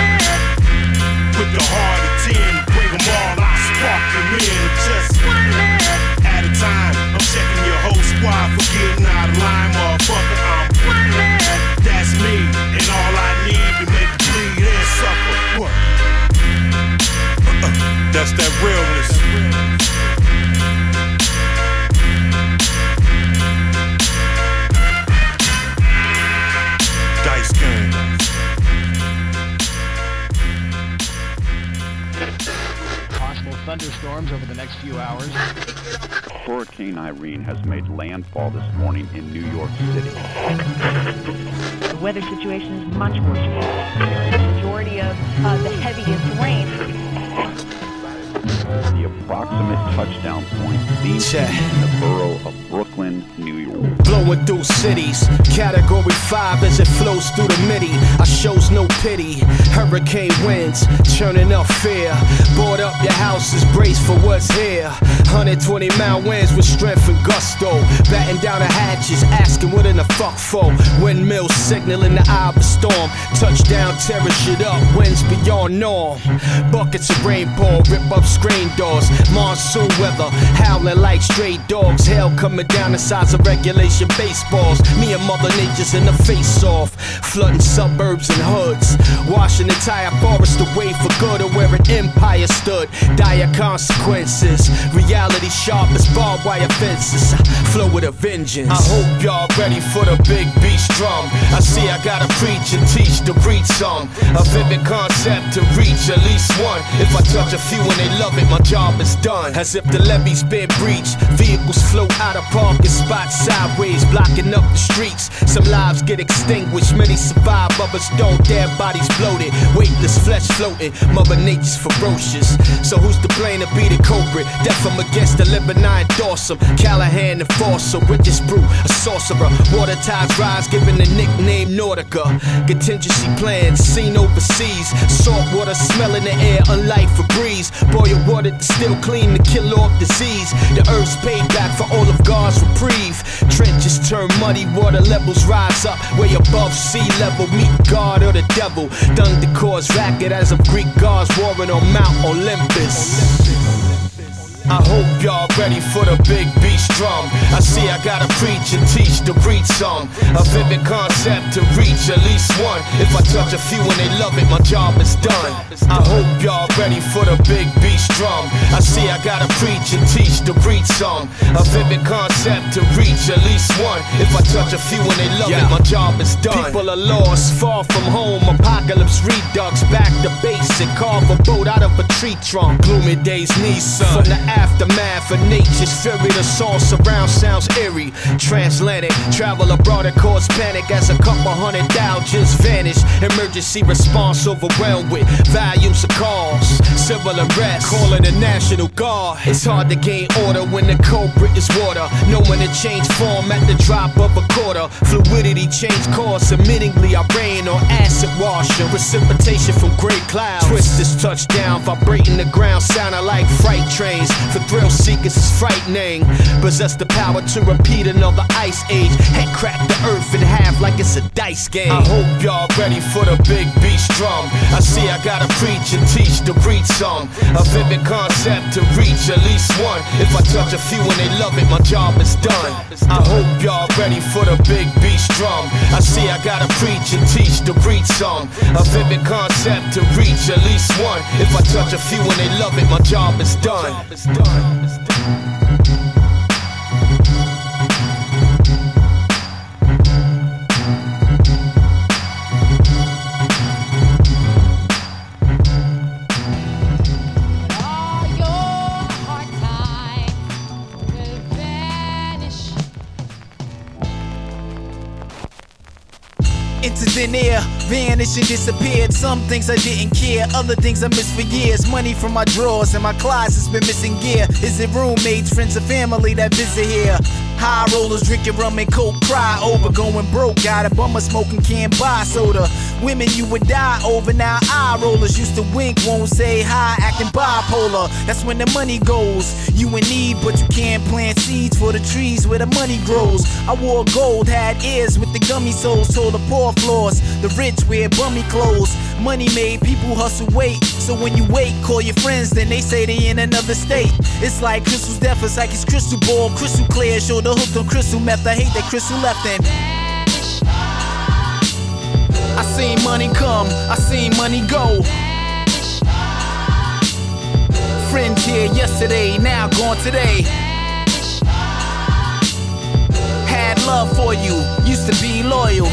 with the heart of ten, bring them all, I spark them in. Just at a time, I'm checking your whole squad for getting out of line, motherfucker. I'm that's me, and all I need to make you bleed and suffer. What? Uh-uh. That's that realness. Dice game. Possible thunderstorms over the next few hours. Hurricane Irene has made landfall this morning in New York City. The weather situation is much worse. The majority of uh, the heaviest rain. The approximate touchdown point seems to be in the borough of Brooklyn, New York. Blowing through cities, category five as it flows through the midi. I shows no pity. Hurricane winds, churning up fear. Board up your houses, brace for what's here. one hundred twenty mile winds with strength and gusto. Batten down the hatches, asking what in the fuck for. Windmills signaling the eye of a storm. Touchdown, tearing shit up, winds beyond norm. Buckets of rainfall, rip up screen doors. Monsoon weather, howling like stray dogs. Hell coming down the size of regulation baseballs. Me and Mother Nature's in the face off. Flooding suburbs and hoods. Washing entire forest away for good of where an empire stood. Dire consequences. Reality sharp as barbed wire fences. I flow with a vengeance. I hope y'all ready for the big beast drum. I see I gotta preach and teach to reach some. A vivid concept to reach at least one. If I touch a few and they love it, my job is done. As if the levee's been breached. Vehicles float out of parking spots sideways, blocking up the streets. Some lives get extinguished, many survive, others don't. Their bodies bloated, weightless flesh floating. Mother Nature's ferocious, so who's to blame to be the culprit? Death from against the living, I endorse them. Callahan enforcer, richest brew, a sorcerer. Water tides rise, given the nickname Nautica. Contingency plans seen overseas. Salt water smell in the air, unlike Febreze. Boil water to still clean to kill off disease. The earth's payback for all of God's reprieve. Trenches turn muddy, water levels rise up way above sea level. Meet God or the devil. Thunder cause racket as of Greek gods warring on Mount Olympus. I hope y'all ready for the big beast drum. I see I gotta preach and teach to reach some. A vivid concept to reach at least one. If I touch a few and they love it, my job is done. I hope y'all ready for the big beast drum. I see I gotta preach and teach to reach some. A vivid concept to reach at least one. If I touch a few and they love yeah. it, my job is done. People are lost, far from home. Apocalypse redux, back to basic. Carve a boat out of a tree trunk. Gloomy days, Nissan. From the aftermath of nature's fury, the song surround sounds eerie. Transatlantic, travel abroad and cause panic as a couple hundred Dow just vanished. Emergency response overwhelmed with volumes of calls. Civil arrest, calling the National Guard. It's hard to gain order when the culprit is water. Knowing to change form at the drop of a quarter. Fluidity change course, admittingly I rain on acid washing. Precipitation from gray clouds. Twist this touchdown, vibrating the ground, sounding like freight trains. For thrill seekers it's frightening. Possess the power to repeat another ice age. Head crack the earth in half like it's a dice game. I hope y'all ready for the big beast drum. I see I gotta preach and teach to reach some. A vivid concept to reach at least one. If I touch a few and they love it, my job is done. I hope y'all ready for the big beast drum. I see I gotta preach and teach to reach some. A vivid concept to reach at least one. If I touch a few and they love it, my job is done. Into thin air, vanished and disappeared. Some things I didn't care, other things I missed for years. Money from my drawers and my closet's been missing gear. Is it roommates, friends or family that visit here? High rollers drinking rum and coke, cry over going broke. Got a bummer smoking, can't buy soda. Women you would die over, now eye rollers used to wink, won't say hi, acting bipolar. That's when the money goes. You in need, but you can't plant seeds for the trees where the money grows. I wore gold, had ears with the gummy soles, told the poor floors. The rich wear bummy clothes. Money made people hustle wait. So when you wait, call your friends, then they say they in another state. It's like Crystal's death, it's like his crystal ball, crystal clear. Shoulder hooked on crystal meth, I hate that crystal left in. I seen money come, I seen money go. Friends here yesterday, now gone today. Had love for you, used to be loyal.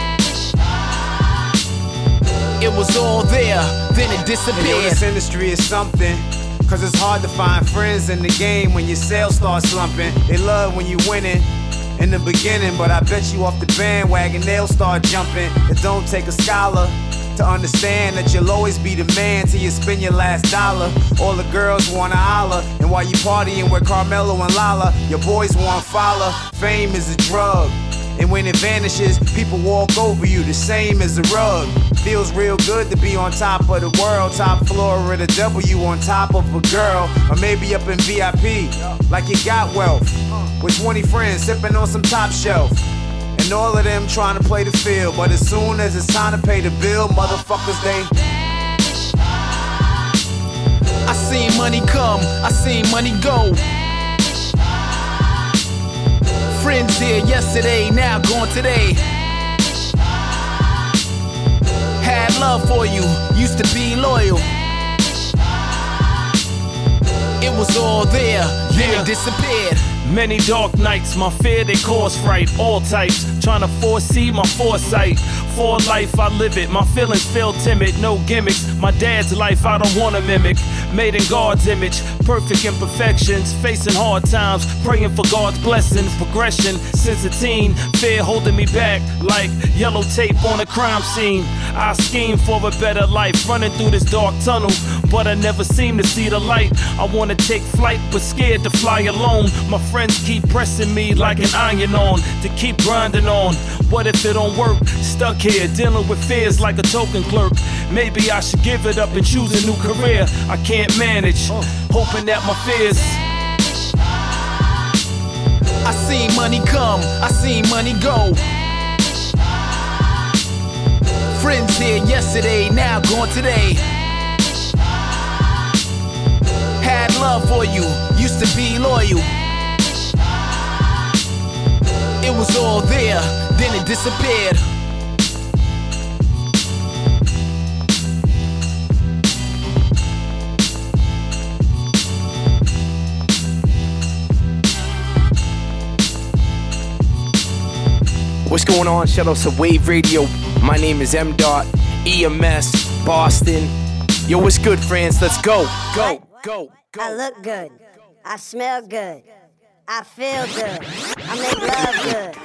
It was all there, then it disappeared. Yo, this industry is something, cause it's hard to find friends in the game when your sales start slumping. They love when you winning in the beginning, but I bet you off the bandwagon they'll start jumping. It don't take a scholar to understand that you'll always be the man till you spend your last dollar. All the girls wanna holler, and while you partying with Carmelo and Lala, your boys want follow. Fame is a drug, and when it vanishes, people walk over you the same as a rug. Feels real good to be on top of the world, top floor of the W on top of a girl, or maybe up in V I P, like you got wealth, with twenty friends sipping on some top shelf. And all of them trying to play the field, but as soon as it's time to pay the bill, motherfuckers they. I seen money come, I seen money go. Friends here yesterday, now gone today. Had love for you, used to be loyal. It was all there, then it disappeared. Many dark nights, my fear they cause fright. All types, trying to foresee my foresight. For life I live it, my feelings feel timid. No gimmicks, my dad's life I don't wanna mimic. Made in God's image, perfect imperfections. Facing hard times, praying for God's blessings. Progression since a teen, fear holding me back like yellow tape on a crime scene. I scheme for a better life, running through this dark tunnel, but I never seem to see the light. I wanna take flight, but scared to fly alone. My friends keep pressing me like an iron on, to keep grinding on. What if it don't work? Stuck here, dealing with fears like a token clerk. Maybe I should give it up and choose a new career. I can't manage, hoping that my fears. I seen money come, I seen money go. Friends here yesterday, now gone today. Had love for you, used to to be loyal. It was all there, then it disappeared. What's going on? Shout out to Wave Radio. My name is M Dot, E M S, Boston. Yo, what's good, friends? Let's go, go, go, go. I look good. I smell good. I feel good. I make love good.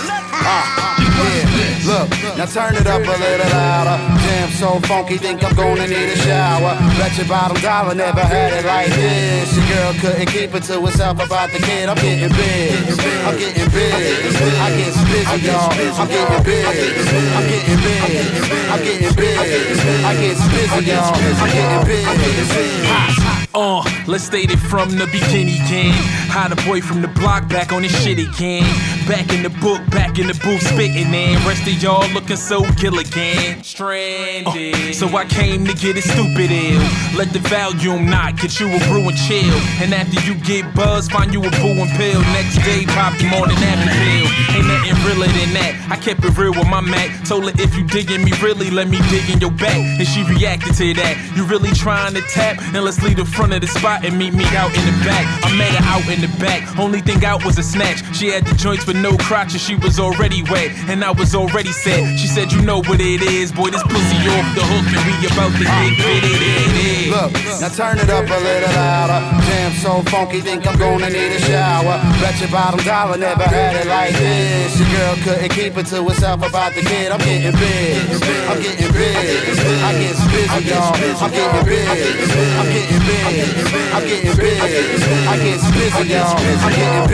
Uh, yeah, look, now turn it up a little louder. Jam so funky, think I'm gonna need a shower. Bet your bottom dollar never had it like this. Your girl couldn't keep it to herself about the kid. I'm getting big, I'm getting big. I get busy, y'all. I'm getting big, I'm getting big. I'm getting big, I get busy, y'all. I'm getting big. Uh, let's state it from the beginning, gang. How the boy from the block back on his shit again. Back in the book, back in the booth, spitting in. Rest of y'all looking so kill again. Stranded. Uh, so I came to get it stupid ill. Let the volume knock, get you a brew and chill. And after you get buzzed, find you a boo and pill. Next day, pop you morning after pill. Ain't nothing realer than that. I kept it real with my Mac. Told her if you digging me really, let me dig in your back. And she reacted to that. You really trying to tap? Then let's leave the front of the spot and meet me out in the back. I met her out in the back. Only thing out was a snatch. She had the joints with no crotch and she was already wet. And I was already set. She said, you know what it is, boy, this pussy off the hook and we about to get bitty. Look, now turn it up a little louder. Jam so funky, think I'm gonna need a shower. Bet your bottom dollar never had it like this. Your girl couldn't keep it to herself about the kid. I'm getting big, I'm getting big. I get busy, y'all. I'm getting big, I'm getting big. I'm getting big, I get busy, y'all. I'm getting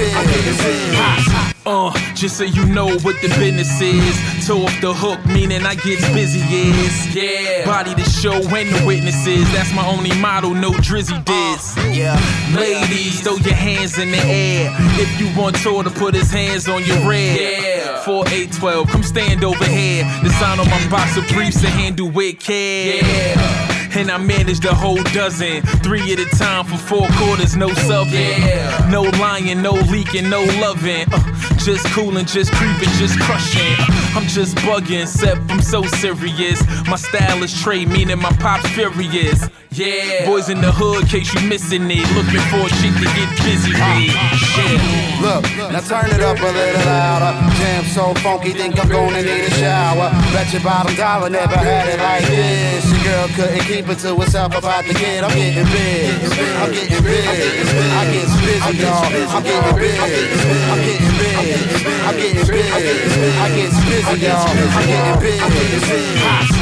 big. Uh, just so you know what the business is. Toe off the hook, meaning I get busy, is. Yeah. Body the show and the witnesses. That's my only motto, no drizzy diss. Uh, yeah. Ladies, throw your hands in the air. If you want Tor to put his hands on your rear. Yeah. four eight twelve, come stand over here. The sign on my box of briefs to handle with care. Yeah. And I managed a whole dozen, three at a time for four quarters, no subbing. Yeah. No lying, no leaking, no loving. Uh, just coolin', just creeping, just crushing. Uh, I'm just bugging, except I'm so serious. My style is trade, meaning my pop's furious. Yeah. Boys in the hood, case you missing it. Looking for a chick to get busy with. Shit. Look, now turn it up a little louder. Jam so funky, think I'm gonna need a shower. Bet your bottom dollar never had it like this. Your girl couldn't keep it to herself about the kid. I'm getting big, I'm getting big. I get busy, y'all. I'm getting big, I'm getting big. I'm getting big, I get busy, y'all. I'm getting big.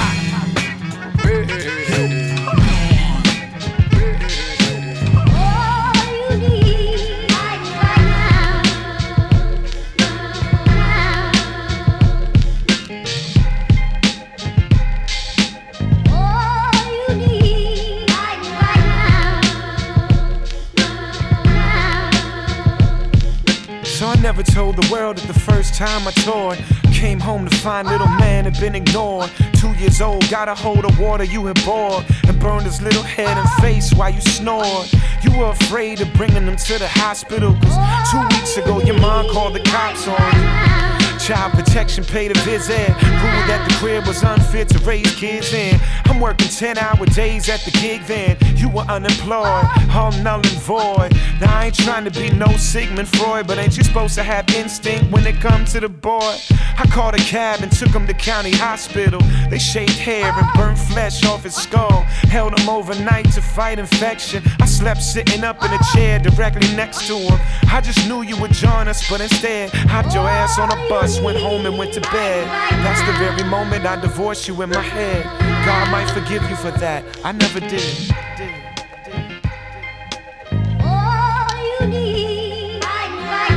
So I never told the world that the first time I toured, came home to find little man had been ignored. Two years old, got a hold of water you had boiled and burned his little head and face while you snored. You were afraid of bringing him to the hospital, cause two weeks ago your mom called the cops on you. Child protection paid a visit. Ruled that the crib was unfit to raise kids in. I'm working ten hour days at the gig then. You were unemployed, all null and void. Now I ain't trying to be no Sigmund Freud, but ain't you supposed to have instinct when it comes to the boy? I called a cab and took him to county hospital. They shaved hair and burnt flesh off his skull. Held him overnight to fight infection. I slept sitting up in a chair directly next to him. I just knew you would join us, but instead hopped your ass on a bus, went home and went to bed. That's the very moment I divorced you in my head. God might forgive you for that, I never did. All you need right, right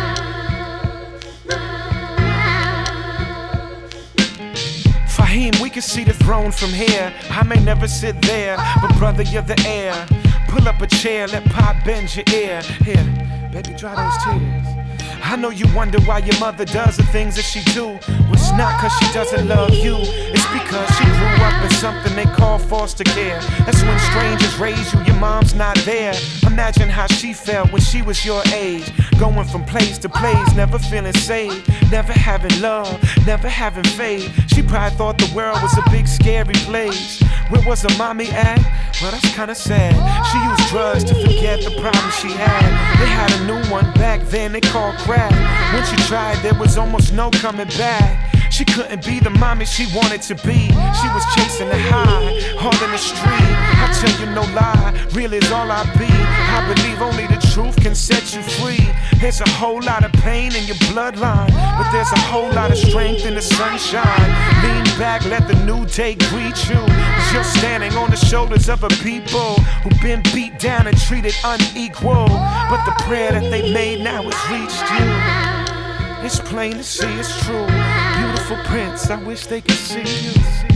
now. Fahim, we can see the throne from here. I may never sit there, but brother, you're the heir. Pull up a chair, let Pop bend your ear. Here, baby, dry those tears. I know you wonder why your mother does the things that she do. Well, it's not cause she doesn't love you, it's because she grew up in something they call foster care. That's when strangers raise you, your mom's not there. Imagine how she felt when she was your age, going from place to place, never feeling safe, never having love, never having faith. She probably thought the world was a big scary place. Where was her mommy at? Well, that's kinda sad. She used drugs to forget the problems she had. They had a new one back then they called crack. Once you tried, there was almost no coming back. She couldn't be the mommy she wanted to be. She was chasing the high, hard in the street. I tell you no lie, real is all I be. I believe only the truth can set you free. There's a whole lot of pain in your bloodline, but there's a whole lot of strength in the sunshine. Lean back, let the new day greet you. Cause you're standing on the shoulders of a people who've been beat down and treated unequal. But the prayer that they made now has reached you. It's plain to see it's true. Beautiful prince, I wish they could see you.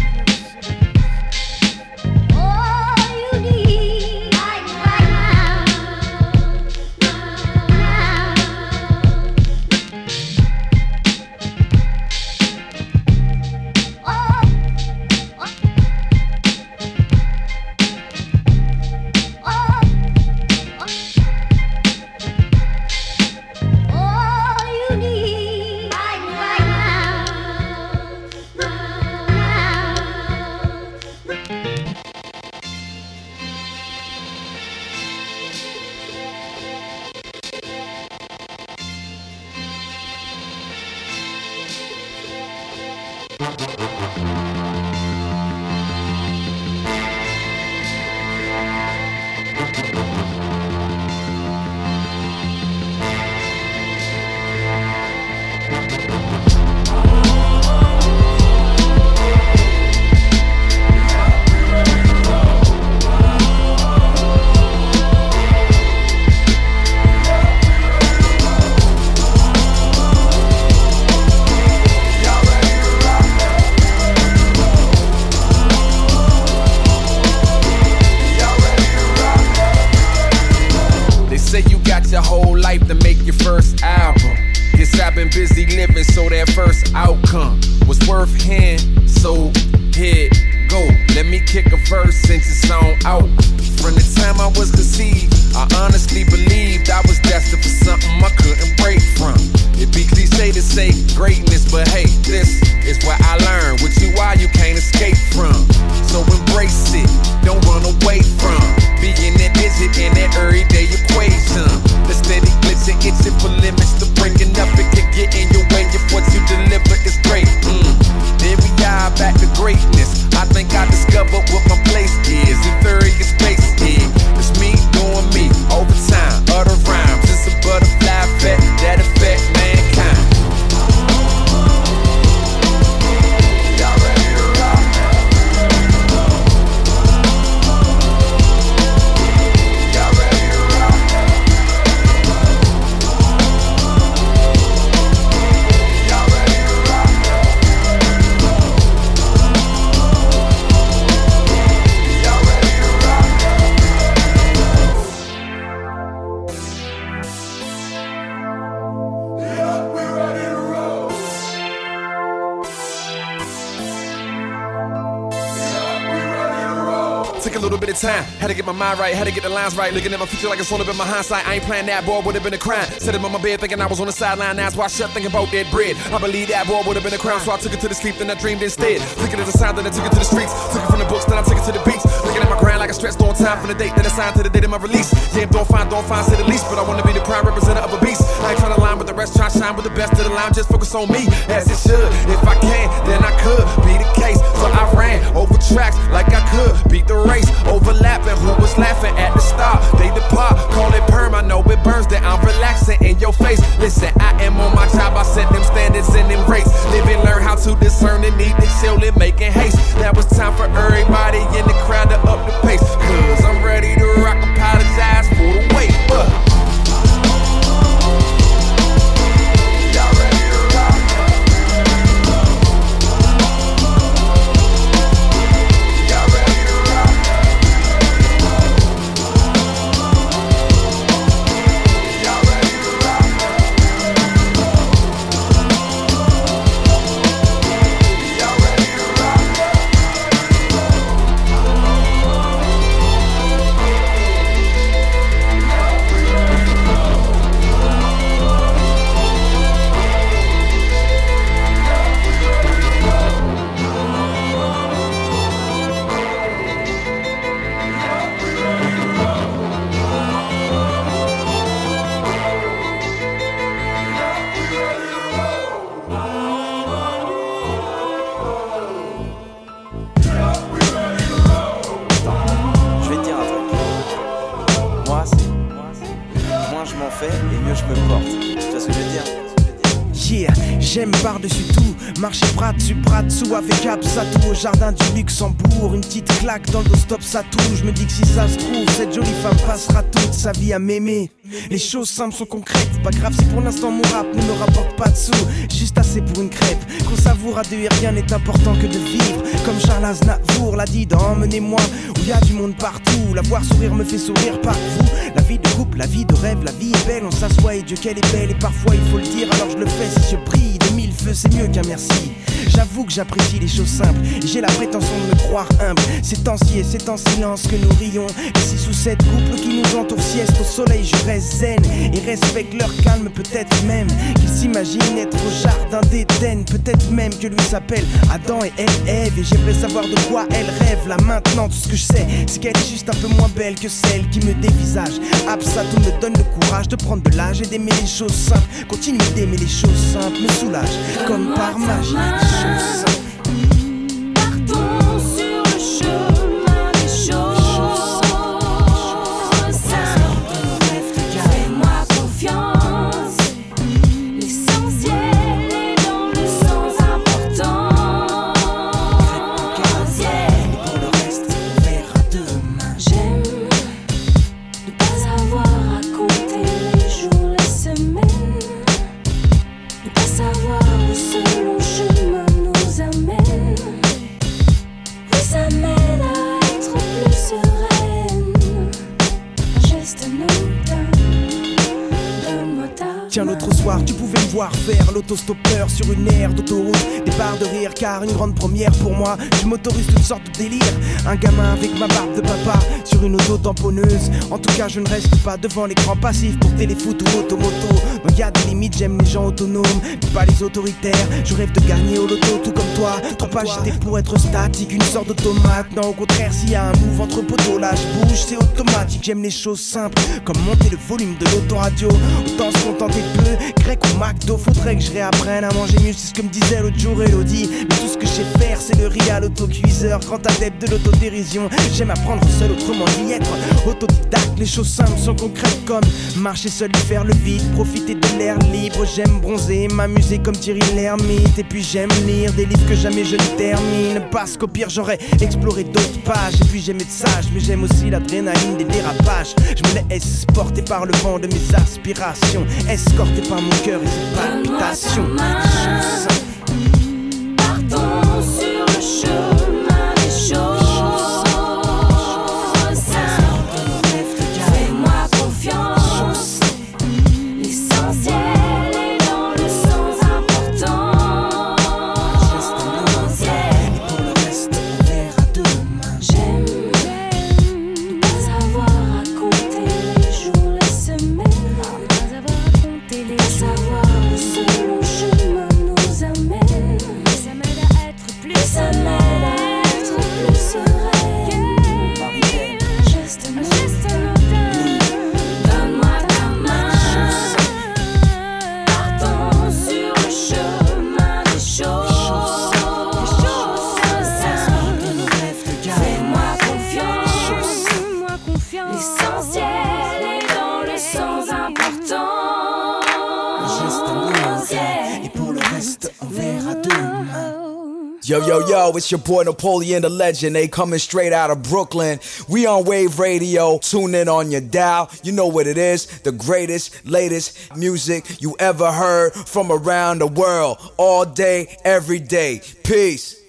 Took a little bit of time, had to get my mind right, had to get the lines right. Looking at my future like it's only been my hindsight. I ain't playing that boy, would have been a crime. Sitting on my bed thinking I was on the sideline, eyes wide shut thinking about that bread. I believe that boy would have been a crown, so I took it to the sleep, then I dreamed instead. Took it as a sign, then I took it to the streets. Took it from the books, then I took it to the beats. Looking at my grind like I stretched on time from the date, then I signed to the date of my release. Yeah, don't find, don't find, say the least, but I wanna be the prime representative of a beast. I ain't trying to line with the rest, try to shine with the best of the line, just focus on me, as it should. If I can, then I could be the case. So I ran over tracks like I could, beat the race, overlapping. Who was laughing at the start? They depart, call it perm. I know it burns that I'm relaxing in your face. Listen, I am on my job. I set them standards and them rates. Live and learn how to discern the need to chill and making haste. Now it's time for everybody in the crowd to up the pace. Cause I'm ready to rock. Apologize for the wait, but moins je m'en fais et mieux je me porte. Tu vois ce que je veux dire? Yeah, j'aime par-dessus tout marcher bras dessus, bras dessous avec Absatou au jardin du Luxembourg. Une petite claque dans le dos, stop, ça touche. Je me dis que si ça se trouve, cette jolie femme passera toute sa vie à m'aimer. Les choses simples sont concrètes, pas grave si pour l'instant mon rap ne me rapporte pas de sous. Juste assez pour une crêpe, qu'on savoure à deux et rien n'est important que de vivre. Comme Charles Aznavour l'a dit dans Emmenez-moi, où y a du monde partout. La voir sourire me fait sourire par vous. La vie de couple, la vie de rêve, la vie est belle. On s'assoit et Dieu qu'elle est belle. Et parfois il faut le dire, alors je le fais. Si je brille de mille feux, c'est mieux qu'un merci. J'avoue que j'apprécie les choses simples et j'ai la prétention de me croire humble. C'est en ci et c'est en silence que nous rions. Et si sous cette couple qui nous entoure sieste au soleil, je reste zen et respecte leur calme. Peut-être même qu'ils s'imaginent être au jardin d'Éden. Peut-être même que lui s'appelle Adam et elle Ève. Et j'aimerais savoir de quoi elle rêve. Là maintenant tout ce que je sais, c'est qu'elle est juste un peu moins belle que celle qui me dévisage. Absatou me donne le courage de prendre de l'âge et d'aimer les choses simples. Continue d'aimer les choses simples, me soulage comme par magie. Partons sur le chemin des choses simples. Fais-moi confiance. L'essentiel est dans le sens important. Et pour le reste, on verra demain. J'aime ne pas avoir à compter les jours, les semaines. Ne pas savoir où ce long chemin nous amène. Oui, ça m'aide à être plus sereine. Un geste anodin, donne-moi ta Tiens, l'autre soir, tu pouvais me voir faire l'autostoppeur sur une aire d'autoroute. Des barres de rire, car une grande première pour moi. Je m'autorise toutes sortes de délires. Un gamin avec ma barbe de papa sur une auto tamponneuse. En tout cas, je ne reste pas devant l'écran passif pour téléfoot ou automoto. Donc y a des limites, j'aime les gens autonomes, mais pas les autoritaires. Je rêve de gagner au loto, tout comme toi. Trop agité pour être statique, une sorte d'automate. Non, au contraire, s'il y a un move entre poteaux, là je bouge, c'est automatique. J'aime les choses simples, comme monter le volume de l'autoradio. Autant se contenter de peu, grec ou McDo. Faudrait que je réapprenne à manger mieux, c'est ce que me disait l'autre jour Elodie. Mais tout ce que je sais faire, c'est le riz à l'autocuiseur. Grand adepte de l'autodérision, j'aime apprendre seul, autrement d'y être autodidacte. Les choses simples sont concrètes comme marcher seul et faire le vide, profiter de l'air libre. J'aime bronzer, m'amuser comme Thierry Lhermitte. Et puis j'aime lire des livres que jamais je ne termine, parce qu'au pire j'aurais exploré d'autres pages. Et puis j'aime être sage, mais j'aime aussi l'adrénaline des dérapages. Je me laisse porter par le vent de mes aspirations, escorté par mon cœur et ses palpitations. Partons sur le chemin des choses simples. Fais-moi confiance. L'essentiel est dans le sens important. Et pour le reste, on verra demain. J'aime ne pas avoir à compter les jours, les semaines. Ne pas avoir à compter les jours. Savoir où ce long chemin nous amène. Ça m'aide à être plus Ça m'aide à être plus sereine. Geste anodin, donne-moi ta main. Partons sur le chemin des choses simples. Fais-moi confiance. L'essentiel est dans le sens important. Et pour le reste, on verra demain. Yo, yo, yo, it's your boy Napoleon the Legend. They coming straight out of Brooklyn. We on Wave Radio. Tune in on your dial. You know what it is. The greatest, latest music you ever heard from around the world. All day, every day. Peace.